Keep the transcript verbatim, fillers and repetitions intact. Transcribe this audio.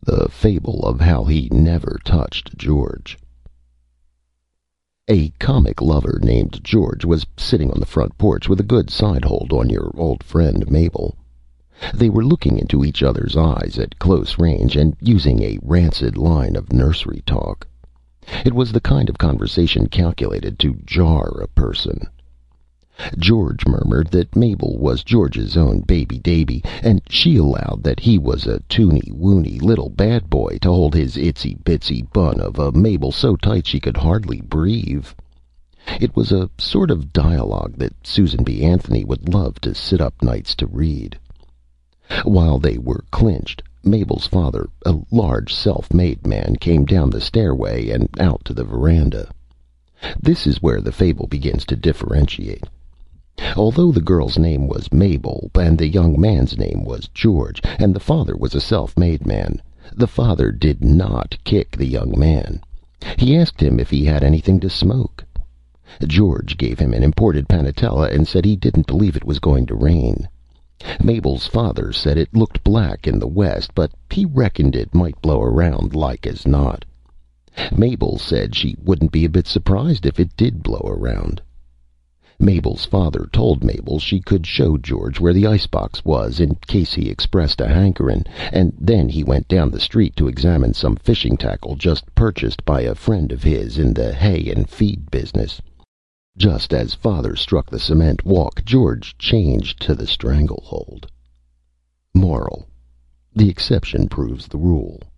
The Fable of How He Never Touched George. A comic lover named George was sitting on the front porch with a good side hold on your old friend Mabel. They were looking into each other's eyes at close range and using a rancid line of nursery talk. It was the kind of conversation calculated to jar a person. George murmured that Mabel was George's own baby Davy, and she allowed that he was a toony woony little bad boy to hold his itsy bitsy bun of a Mabel so tight she could hardly breathe. It was a sort of dialogue that Susan B. Anthony would love to sit up nights to read. While they were clinched, Mabel's father, a large self-made man, came down the stairway and out to the veranda. This is where the fable begins to differentiate. Although the girl's name was Mabel, and the young man's name was George, and the father was a self-made man, the father did not kick the young man. He asked him if he had anything to smoke. George gave him an imported panatella and said he didn't believe it was going to rain. Mabel's father said it looked black in the west, but he reckoned it might blow around like as not. Mabel said she wouldn't be a bit surprised if it did blow around. Mabel's father told Mabel she could show George where the icebox was in case he expressed a hankerin', and then he went down the street to examine some fishing tackle just purchased by a friend of his in the hay and feed business. Just as father struck the cement walk, George changed to the stranglehold. Moral: the exception proves the rule.